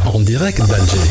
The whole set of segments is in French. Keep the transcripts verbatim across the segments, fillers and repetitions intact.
En direct d'Alger.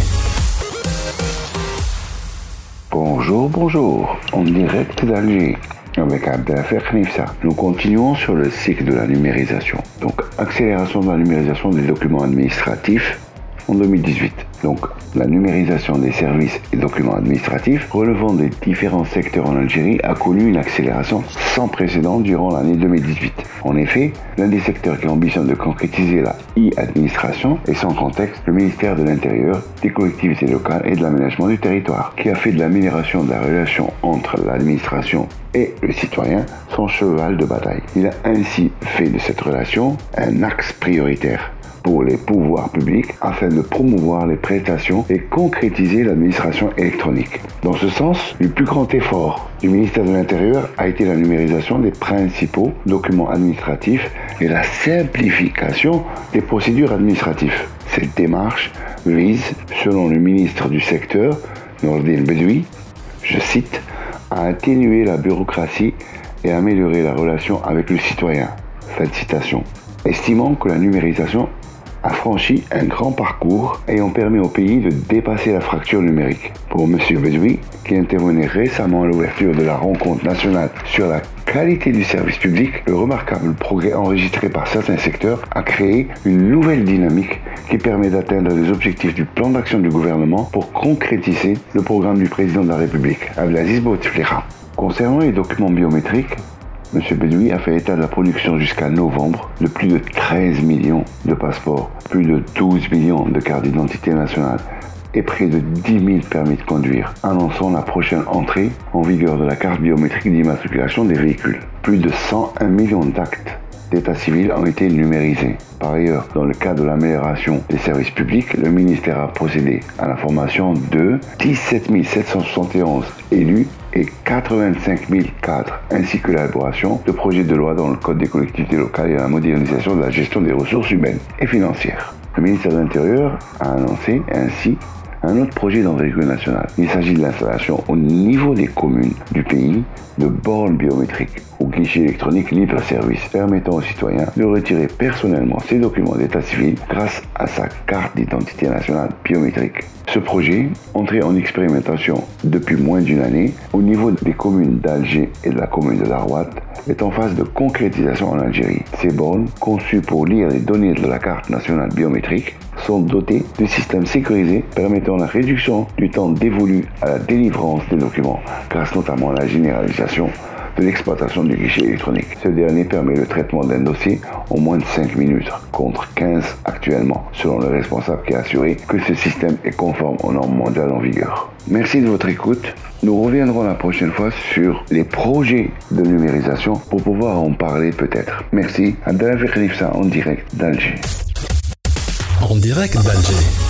Bonjour, bonjour, en direct d'Alger, avec Abdelafer Knifsa. Nous continuons sur le cycle de la numérisation. Donc, accélération de la numérisation des documents administratifs en deux mille dix-huit. Donc, la numérisation des services et documents administratifs relevant des différents secteurs en Algérie a connu une accélération sans précédent durant l'année deux mille dix-huit. En effet, l'un des secteurs qui ambitionne de concrétiser la e-administration est sans contexte le ministère de l'Intérieur, des collectivités locales et de l'aménagement du territoire, qui a fait de l'amélioration de la relation entre l'administration et le citoyen son cheval de bataille. Il a ainsi fait de cette relation un axe prioritaire pour les pouvoirs publics afin de promouvoir les prestations et concrétiser l'administration électronique. Dans ce sens, le plus grand effort du ministère de l'Intérieur a été la numérisation des principaux documents administratifs et la simplification des procédures administratives. Cette démarche vise, selon le ministre du secteur, Nourdine Bedoui, je cite, à atténuer la bureaucratie et améliorer la relation avec le citoyen. Fin de citation. Estimant que la numérisation a franchi un grand parcours ayant permis au pays de dépasser la fracture numérique. Pour M. Bedoui, qui intervenait récemment à l'ouverture de la rencontre nationale sur la qualité du service public, le remarquable progrès enregistré par certains secteurs a créé une nouvelle dynamique qui permet d'atteindre les objectifs du plan d'action du gouvernement pour concrétiser le programme du président de la République, Abdelaziz Bouteflika. Concernant les documents biométriques, M. Bedoui a fait état de la production jusqu'à novembre de plus de treize millions de passeports, plus de douze millions de cartes d'identité nationale et près de dix mille permis de conduire, annonçant la prochaine entrée en vigueur de la carte biométrique d'immatriculation des véhicules. Plus de cent un millions d'actes d'état civil ont été numérisés. Par ailleurs, dans le cadre de l'amélioration des services publics, le ministère a procédé à la formation de dix-sept mille sept cent soixante et onze élus et quatre-vingt-cinq mille cadres, ainsi que l'élaboration de projets de loi dans le Code des collectivités locales et la modernisation de la gestion des ressources humaines et financières. Le ministère de l'Intérieur a annoncé ainsi un autre projet d'envergure nationale. Il s'agit de l'installation au niveau des communes du pays de bornes biométriques ou guichets électroniques libre-service permettant aux citoyens de retirer personnellement ses documents d'état civil grâce à sa carte d'identité nationale biométrique. Ce projet, entré en expérimentation depuis moins d'une année au niveau des communes d'Alger et de la commune de Darouat, est en phase de concrétisation en Algérie. Ces bornes, conçues pour lire les données de la carte nationale biométrique, sont dotées de systèmes sécurisés permettant la réduction du temps dévolu à la délivrance des documents, grâce notamment à la généralisation de l'exploitation du guichet électronique. Ce dernier permet le traitement d'un dossier en moins de cinq minutes, contre quinze actuellement, selon le responsable qui a assuré que ce système est conforme aux normes mondiales en vigueur. Merci de votre écoute. Nous reviendrons la prochaine fois sur les projets de numérisation pour pouvoir en parler peut-être. Merci. Abdelafer Knifsa en direct d'Alger. En direct d'Alger.